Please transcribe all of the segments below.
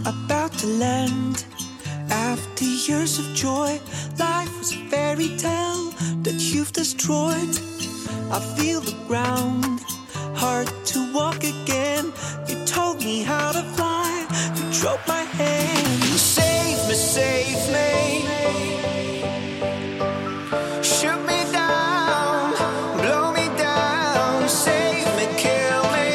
about to land. After years of joy, life was a fairy tale that you've destroyed. I feel the ground, hard to walk again. You told me how to fly, you drove my hand. Save me, save me. Shoot me down, blow me down. Save me, kill me.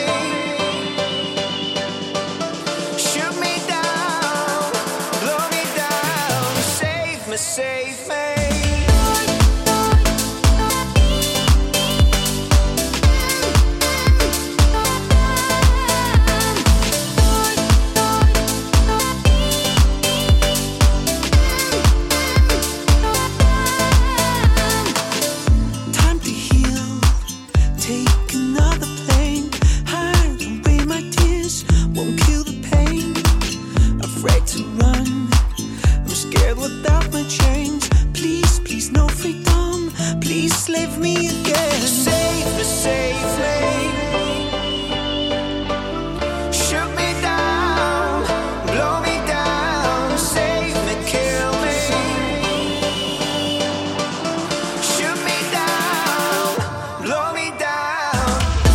Shoot me down, blow me down. Save me, save me. Leave me again. Save me, save me. Shoot me down, blow me down. Save me, kill me. Shoot me down, blow me down.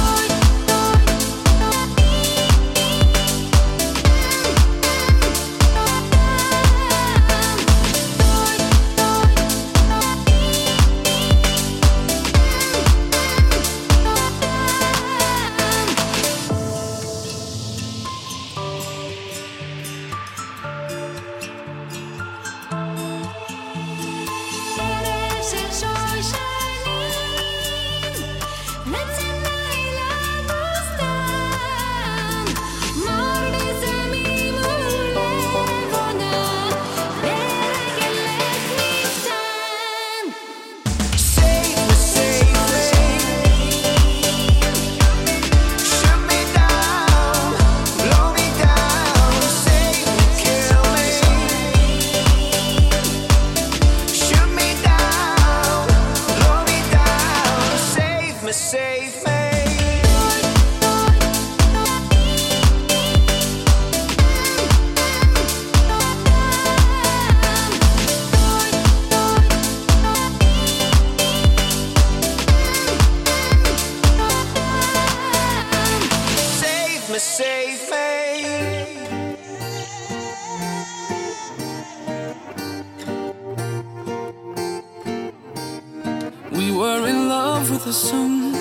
Save me. Save me, save me. We were in love with the sun.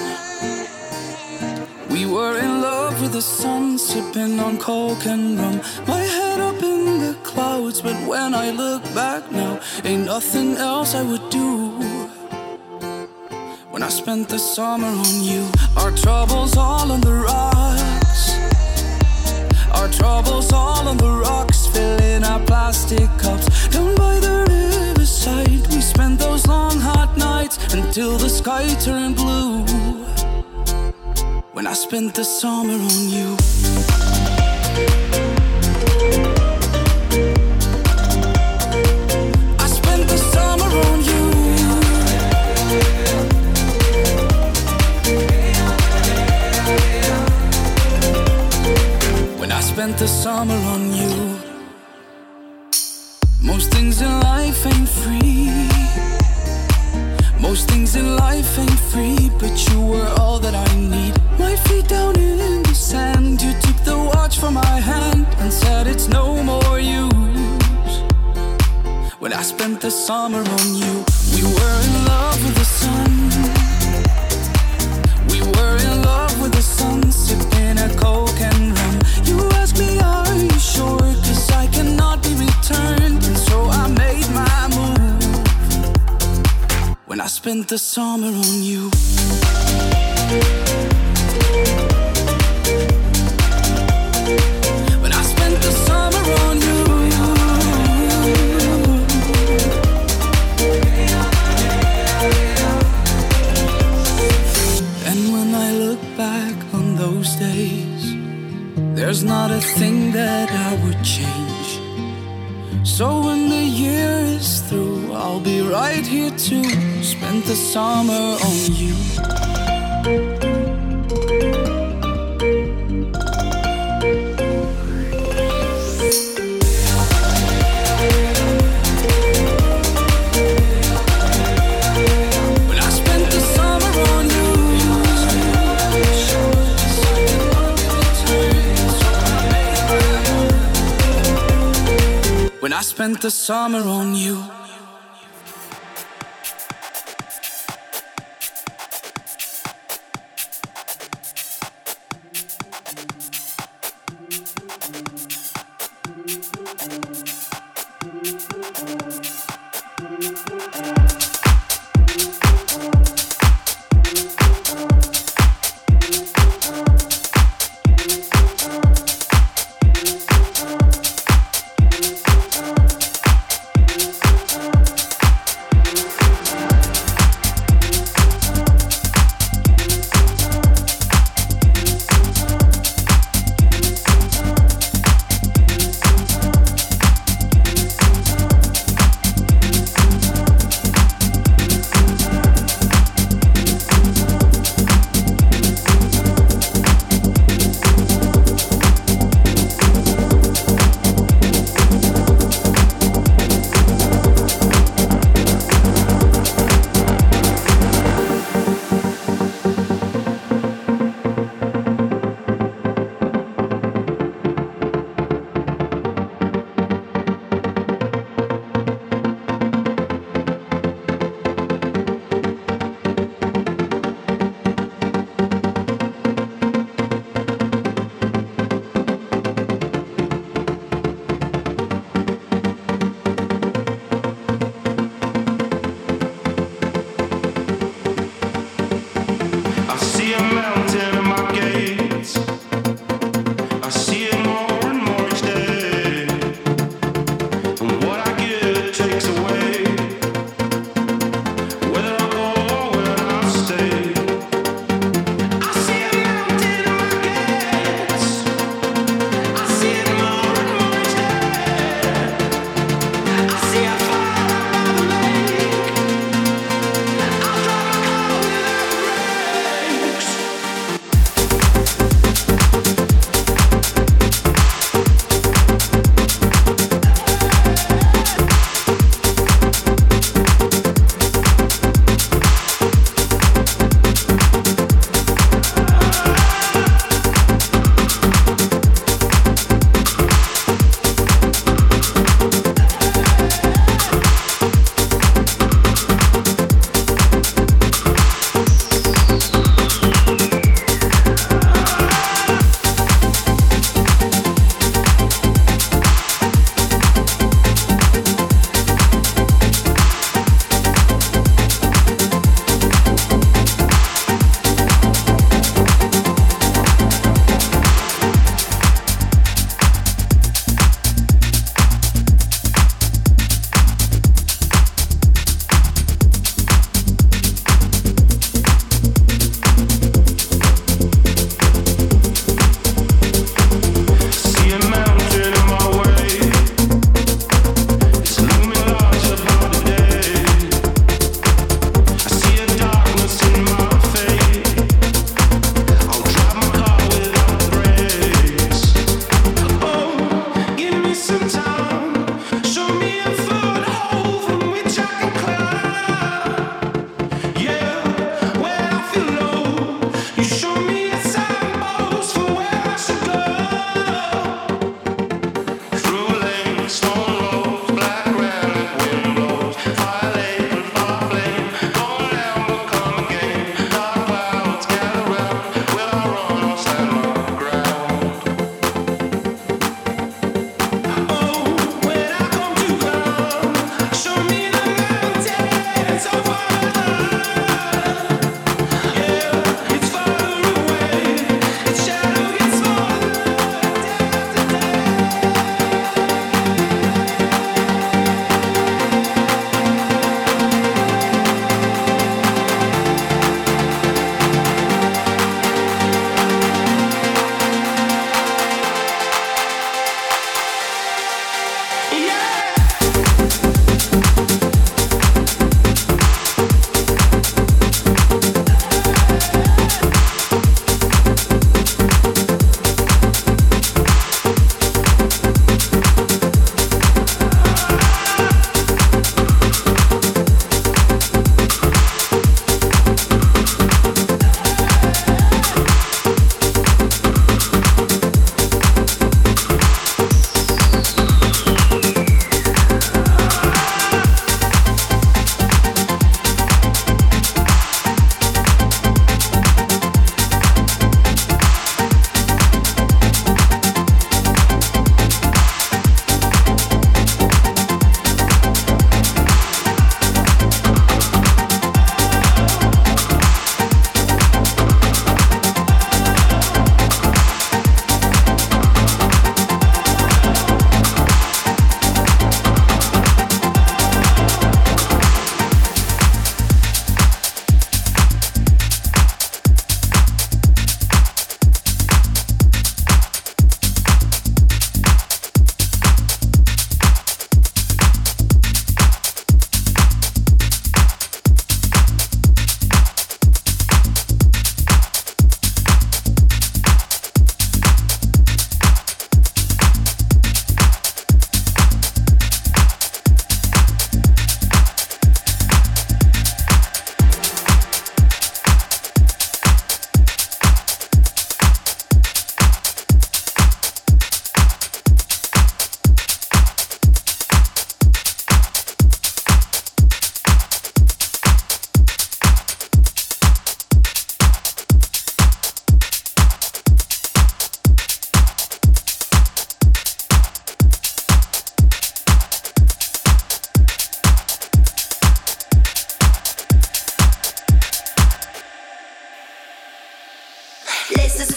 We were in love with the sun, sipping on coke and rum. My head up in the clouds, but when I look back now, ain't nothing else I would do. When I spent the summer on you, our troubles all on the rocks. Our troubles all on the rocks, filling our plastic cups. Down by the riverside, we spent those long hot nights until the sky turned blue. When I spent the summer on you. I spent the summer on you. When I spent the summer on you. Most things in life ain't free. Most things in life ain't free, but you were all that I need. My feet down in the sand, you took the watch from my hand and said it's no more use. When I spent the summer on you, we were in love with the sun. We were in love with the sun, sipping a coke and rum. You asked me, are you sure? 'Cause I cannot be returned, and so I made my move. When I spent the summer on you. When I spent the summer on you. And when I look back on those days, there's not a thing that I would change. So when the year is through, I'll be right here to spend the summer on you. spent the summer on you.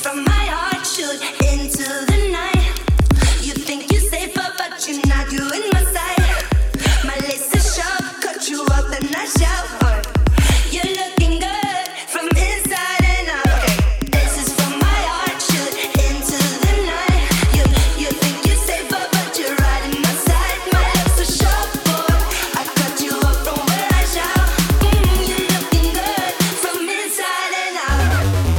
from my heart, shoot into the night. You think you're safer, but you're not doing my side. My lace is sharp, cut you up and I shout. You're looking good from inside and out. This is from my heart, shoot into the night. You think you're safer, but you're right in my side. My lips are sharp, boy. I cut you up from where I shout. You're looking good from inside and out.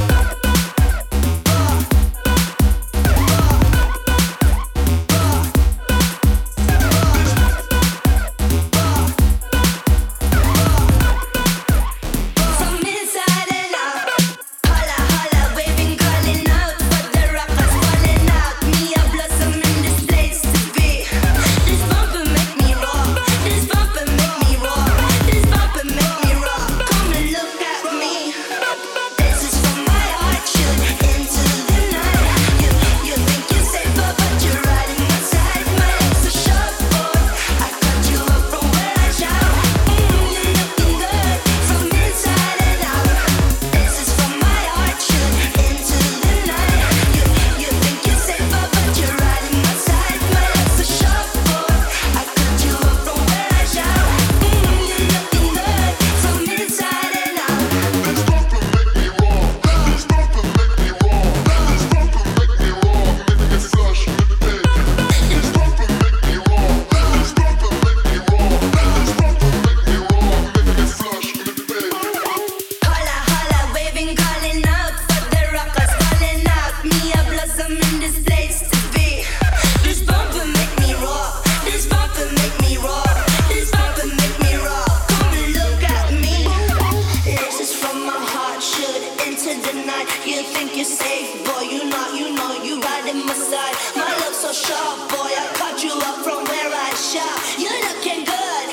From inside and out. Holla, holla, waving, calling out for the rockers falling out. Me a blossom in this place to be. This bumper make me raw. This bumper make me raw. This bumper make me raw. Come and look at me. This is from my heart, shoot into the night. You think you're safer, but you're right in my side. My lips are sharp, boy. I cut you up from where I shout. You're looking good from inside and out. This is from my heart, shoot into the night. You think you're safer, but you're right in my side. My lips are sharp, boy. I cut you up from where I shout. You're looking good from inside and out. This bumper make me raw. This bumper make me raw. This bumper make me raw. Make me flush with the bed. This bumper make me raw. This bumper make me raw. This bumper make me raw. Make me flush with the bed. Holla, holla, waving, calling out for the rockers falling out. Me a blossom in this place to be. This bumper make me raw. This bumper make me raw. This bumper make me raw. Come and look at me. This is from my heart, shoot into the night. You think you're safe, boy? You know you right in my side. My love so sharp, boy. I cut you up from where I shout. You're looking good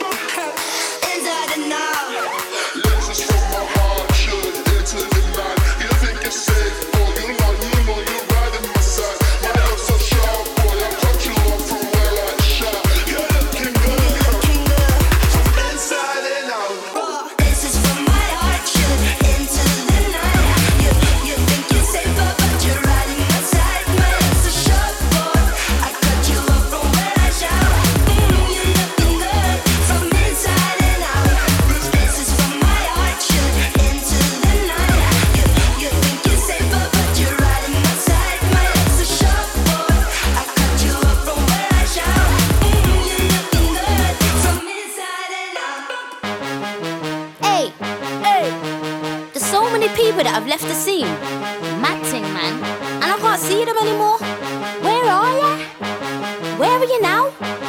inside and out. This is from my heart, shoot into the night. You think you're safe, boy? You know you're right in my side. My love so sharp, boy. I cut you up from where I shout. You're looking good from inside and out. This is from my heart, shoot into the night. You think you're safer, but you're right in my side. My lips are sharp, boy. I cut you up from where I shout. You're looking good from inside and out. This is from my heart, shoot into the night. You think you're safer, but you're right in my side. My lips are sharp, boy. I cut you up from where I shout. You're looking good from inside and out. Hey, there's so many people that have left the scene. Mad thing, man. And I can't see them anymore. Where are ya? Where are you now?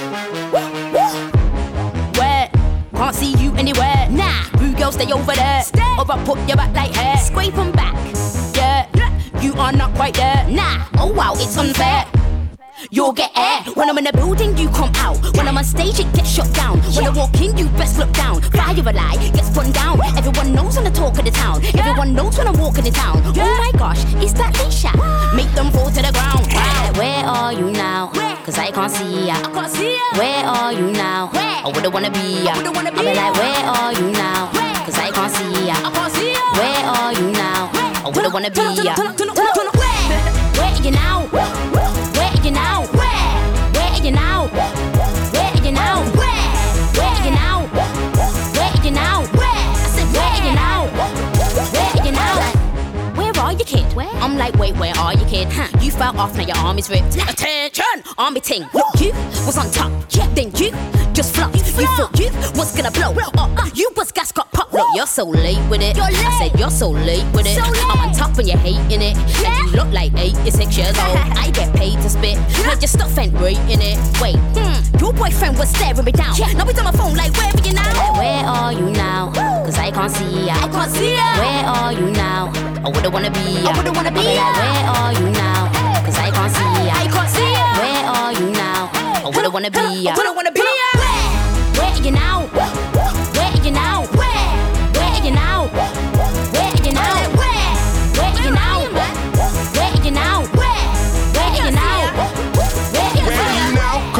Where? Can't see you anywhere. Nah, you girl stay over there. Or I put your back like hair. Scrape 'em back. Yeah, you are not quite there. Nah, oh wow, it's unfair. You'll get air. When I'm in the building, you come out. When I'm on stage, it gets shut down. When I walk in, you best look down. Fire a lie, gets put down. Everyone knows I'm the talk of the town. Everyone knows when I'm walking the town. Oh my gosh, is that Leisha? Make them fall to the ground. Where are you now? Cause I can't see ya. Where are you now? I wouldn't wanna be ya. I'll be like, where are you now? Cause I can't see ya. Where are you now? I wouldn't wanna be ya. Where are you now? Where are you now? Where are you now? Where are you now? Where are you now? Where are you now? I said, where are you now? Where are you now? Where are you, kid? I'm like, wait, where are you, kid? You fell off, now your arm is ripped. Attention, army ting. You was on top, then you just flopped. You thought you was gonna blow. You was gas got popped. Look, you're so late with it. I said you're so late with it. I'm on top and you're hating it. And you look like 86 years old. I get paid to spit. Like your stuff ain't rating it. Wait, your boyfriend was staring me down. Now he's on my phone like, where are you now? Where are you now? Cause I can't see ya. Where are you now? I wouldn't wanna be ya. I'll be like, where are you now? Cause I can't see ya. Where are you now? I wouldn't wanna be ya. Where are you now? Where are you now? Where are you now? Where are you now? Where are you now? Where are you now? Where are you now? Where are you now? Cause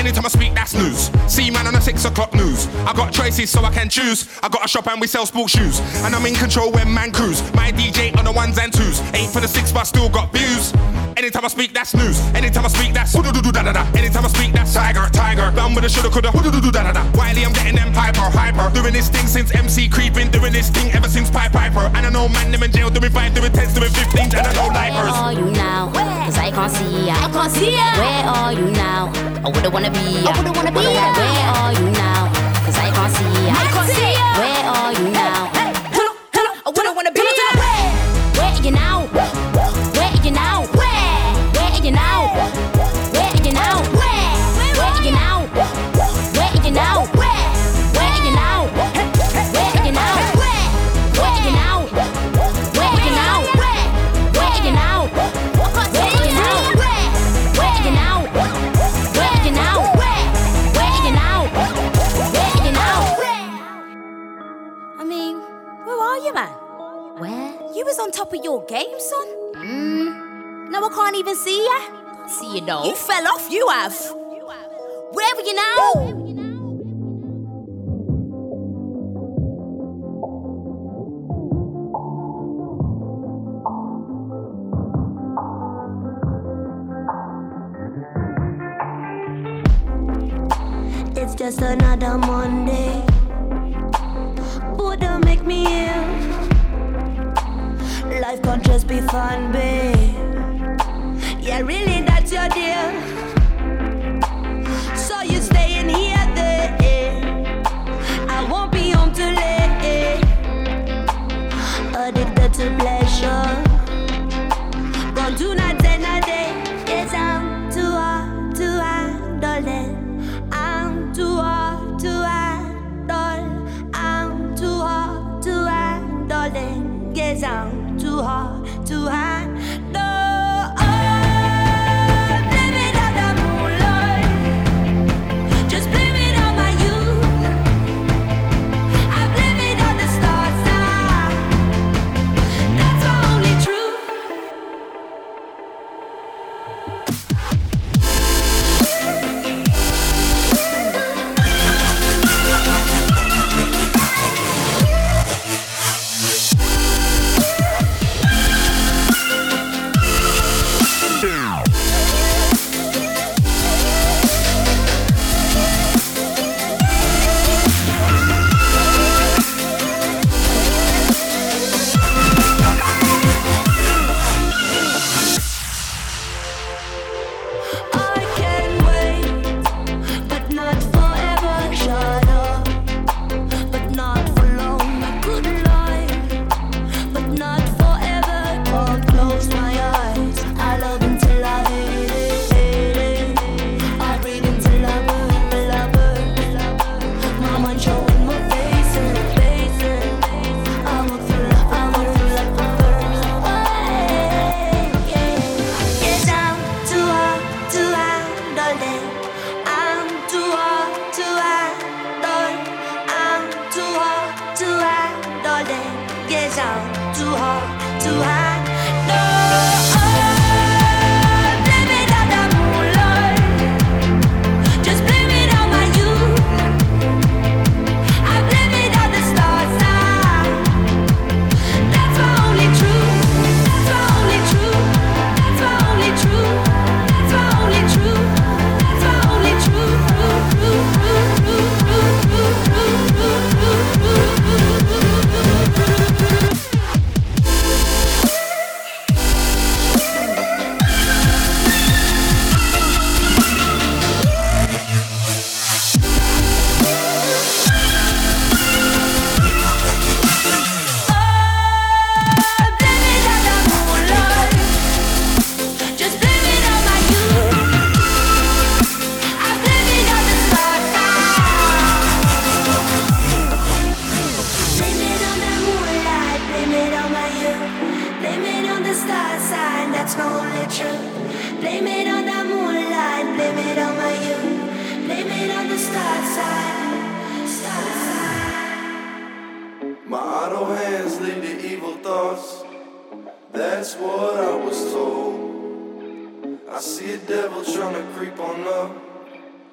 Anytime I speak, that's news. See man on the 6 o'clock news. I got choices so I can choose. I got a shop and we sell sports shoes. And I'm in control when man cruise. My DJ on the 1s and 2s. 8 for the 6 but still got views. Anytime I speak, that's news. Anytime I speak, that's da-da-da. Anytime I speak, that's tiger. Done with the shoulda, coulda, da-da-da. Wiley, I'm getting them hyper. Doing this thing since MC creeping. Doing this thing ever since Piper. And I know man, them in jail, doing 5, doing 10s, doing 15s. And I know lifers. Where are you now? Cause I can't see ya. Where are you now? I wouldn't wanna be ya. Where are you now? Cause I can't see ya. Where are you now? I wouldn't wanna be ya. Where are you now? Where are you now? Where are you now? Where are you now? Where are you now? Where are you now? Where are you now? Where are you now? Where are you now? Where are you now? Where are you now? Where are you now? Where are you now? Where are you now? Where are you now? Where are you now? I mean, where are you, man? Where? You was on top of your game, son. No, I can't even see ya. Can't see you though. You fell off, you have. Where are you now? It's just another Monday. But don't make me ill. Life can't just be fun, babe. Yeah, really, that's your deal. So you staying here, there. I won't be home too late. Addicted to pleasure. Gone do not end a day. Yes, I'm too hard to handle it. I'm too hard to handle. I'm too hard to handle it. Yes, I'm too hard to handle.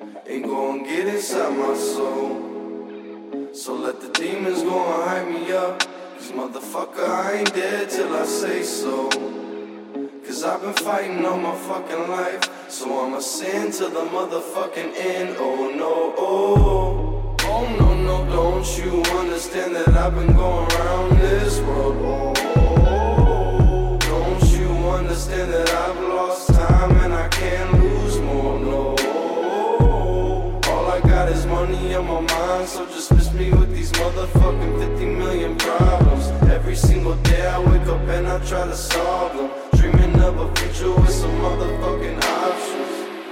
ain't gon' get inside my soul. So let the demons go and hype me up, cause motherfucker, I ain't dead till I say so. Cause I've been fighting all my fucking life, so I'ma sin to the motherfucking end. Oh no, oh, oh no, no, don't you understand that I've been going around this world? Oh, don't you understand that I've lost time and I can't lose more? No, all I got is money on my mind, so just miss me with these motherfucking 50 million problems. Every single day I wake up and I try to solve them, dreaming of a future with some motherfucking options.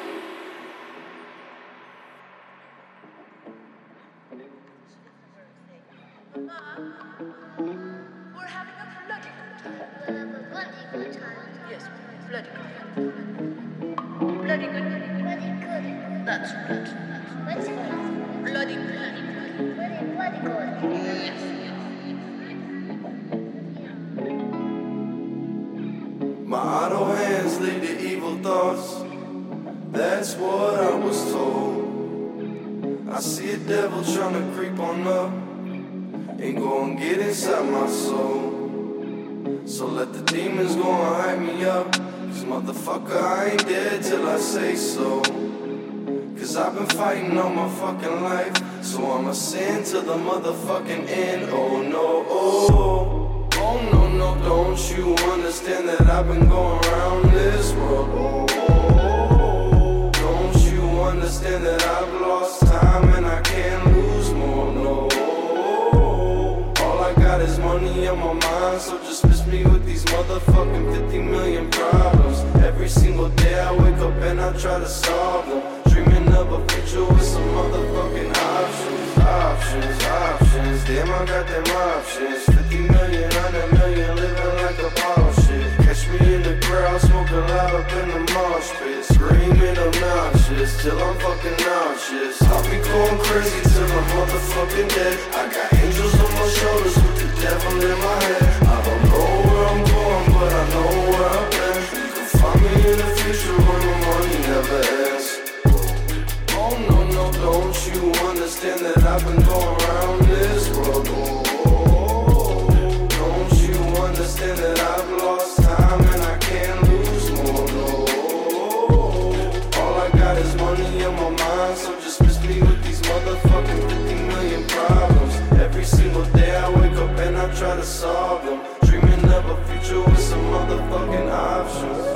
We're having a bloody good time. Yes, bloody good. Bloody good. Bloody good. That's good. What's it called? Bloody good. Bloody good. Yes. My idle hands lead to evil thoughts, that's what I was told. I see a devil trying to creep on up, ain't gon' get inside my soul. So let the demons go and hype me up, cause motherfucker, I ain't dead till I say so. Cause I've been fighting all my fucking life, so I'ma sin to the motherfucking end. Oh no, oh, oh no, no, don't you understand that I've been going around this world? Oh, don't you understand that I've lost time and I can't lose more? No, all I got is money on my mind, so just miss me with these motherfucking 50 million problems. Every single day I wake up and I try to solve them, dreaming of a future with some motherfucking options. Options, options, damn I got them options. 50 million, 100 million, living like a ball shit. Catch me in the crowd, smoking loud up in the mosh pit, screaming obnoxious till I'm fucking nauseous. I'll be going crazy till I'm motherfucking dead. I got angels on my shoulders with the devil in my head. I don't know where I'm going, but I know where I've been. You can find me in the future when the money never ends. Oh no, no, don't you understand that I've been going around this world? Oh, don't you understand that I've lost time and I can't lose more? No, all I got is money on my mind, so just miss me with these motherfucking 50 million problems. Every single day I wake up and I try to solve them, dreaming of a future with some motherfucking options.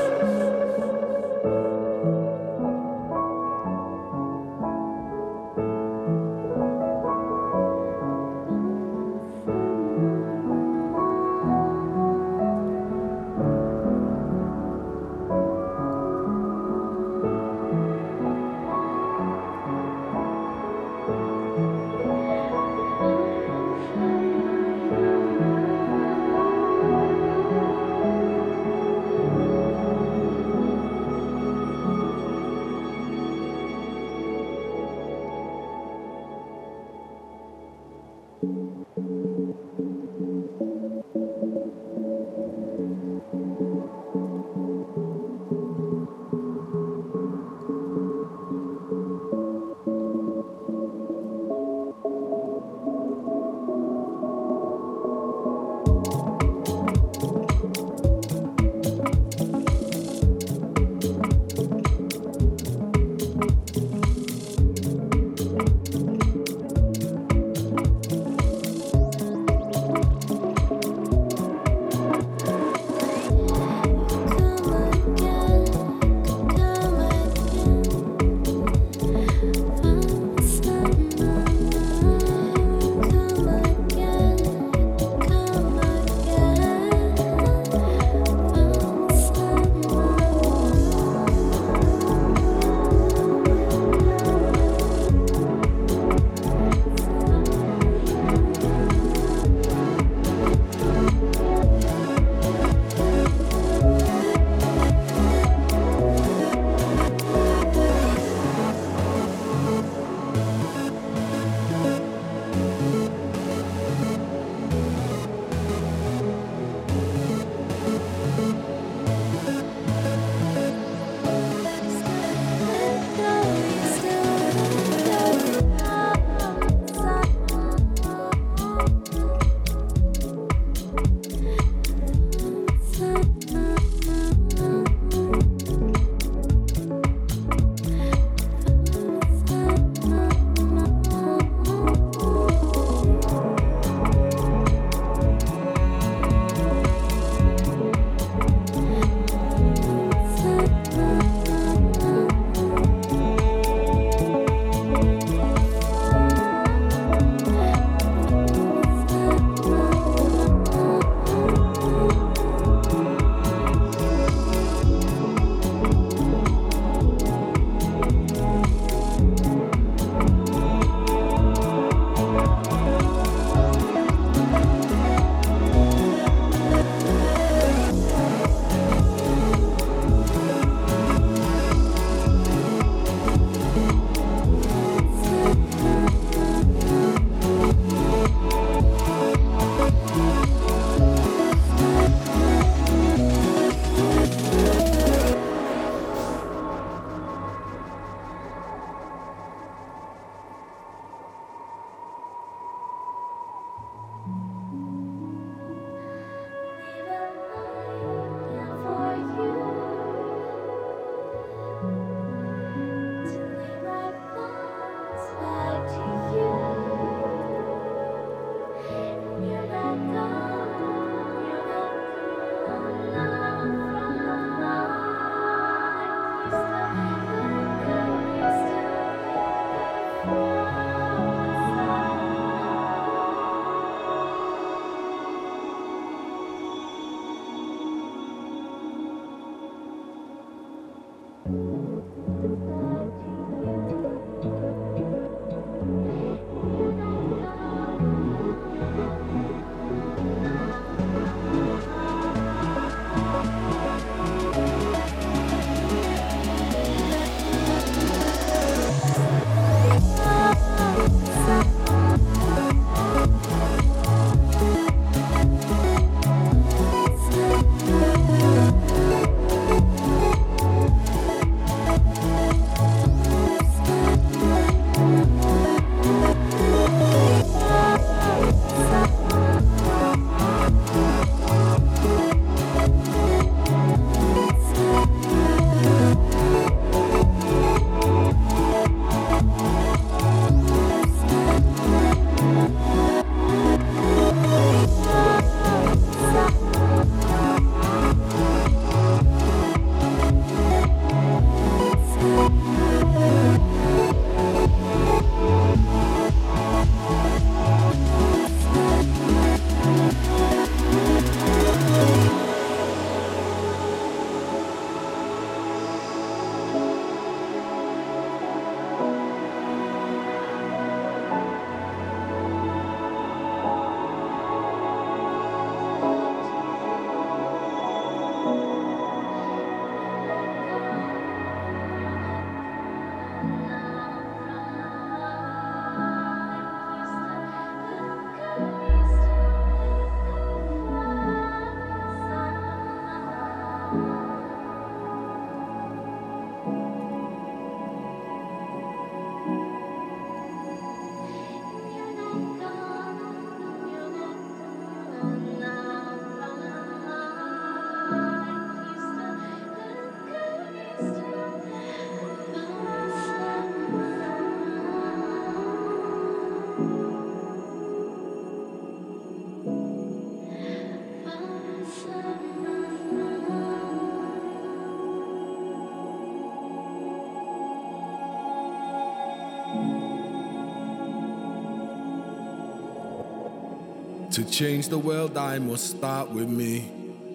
To change the world, I must start with me.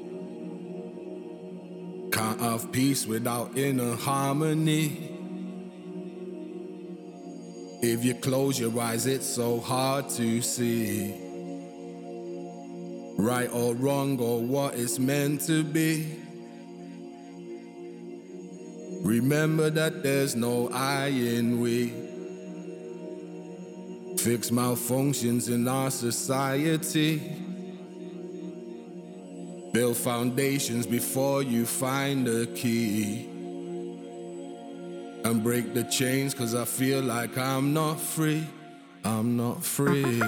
Can't have peace without inner harmony. If you close your eyes, it's so hard to see right or wrong or what it's meant to be. Remember that there's no I in we. Fix malfunctions in our society. Build foundations before you find the key. And break the chains, 'cause I feel like I'm not free. I'm not free.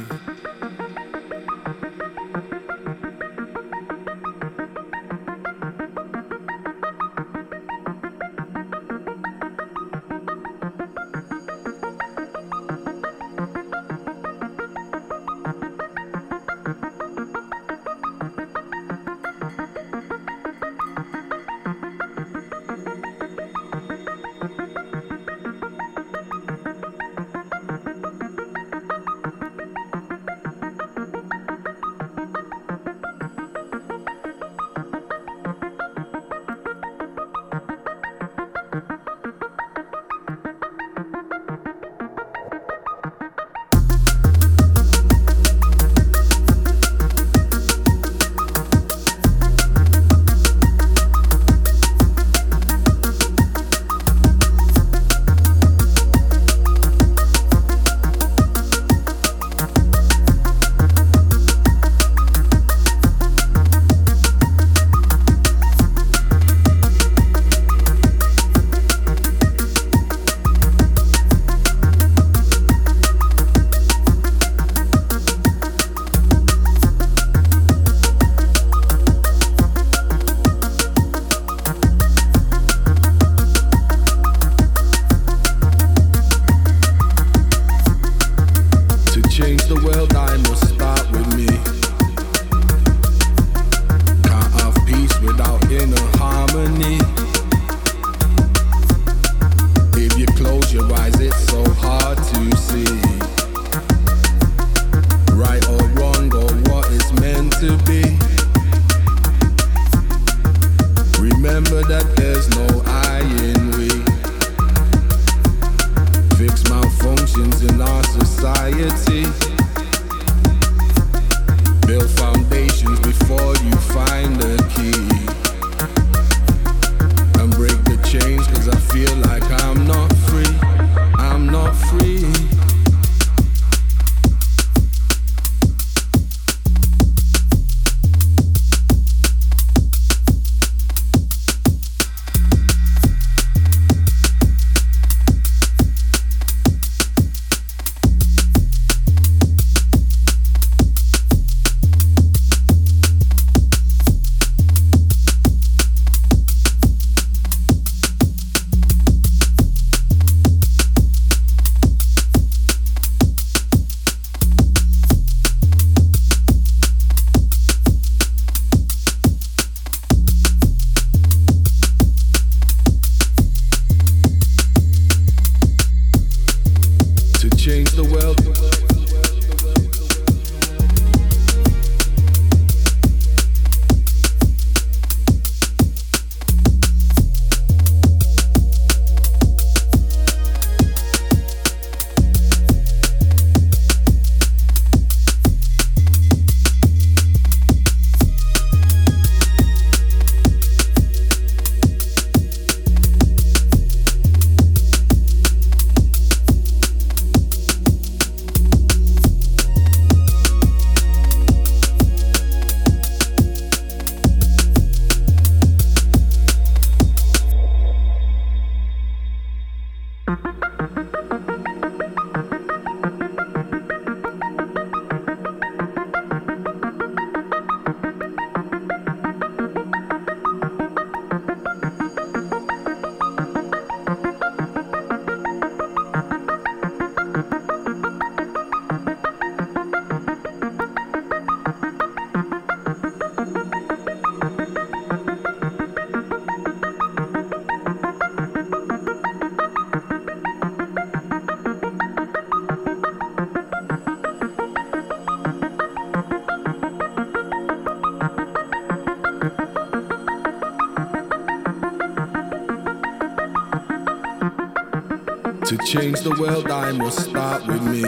To change the world, I must start with me.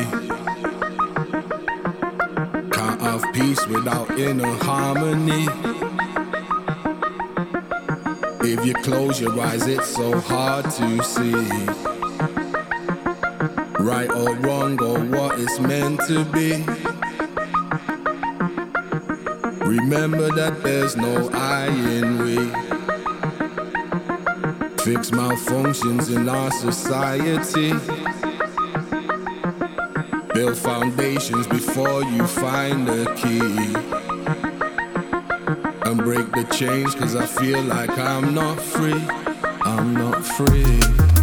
Can't have peace without inner harmony. If you close your eyes, it's so hard to see. Right or wrong or what it's meant to be. Remember that there's no I in we. Fix malfunctions in our society. Build foundations before you find the key. And break the chains, cause I feel like I'm not free. I'm not free.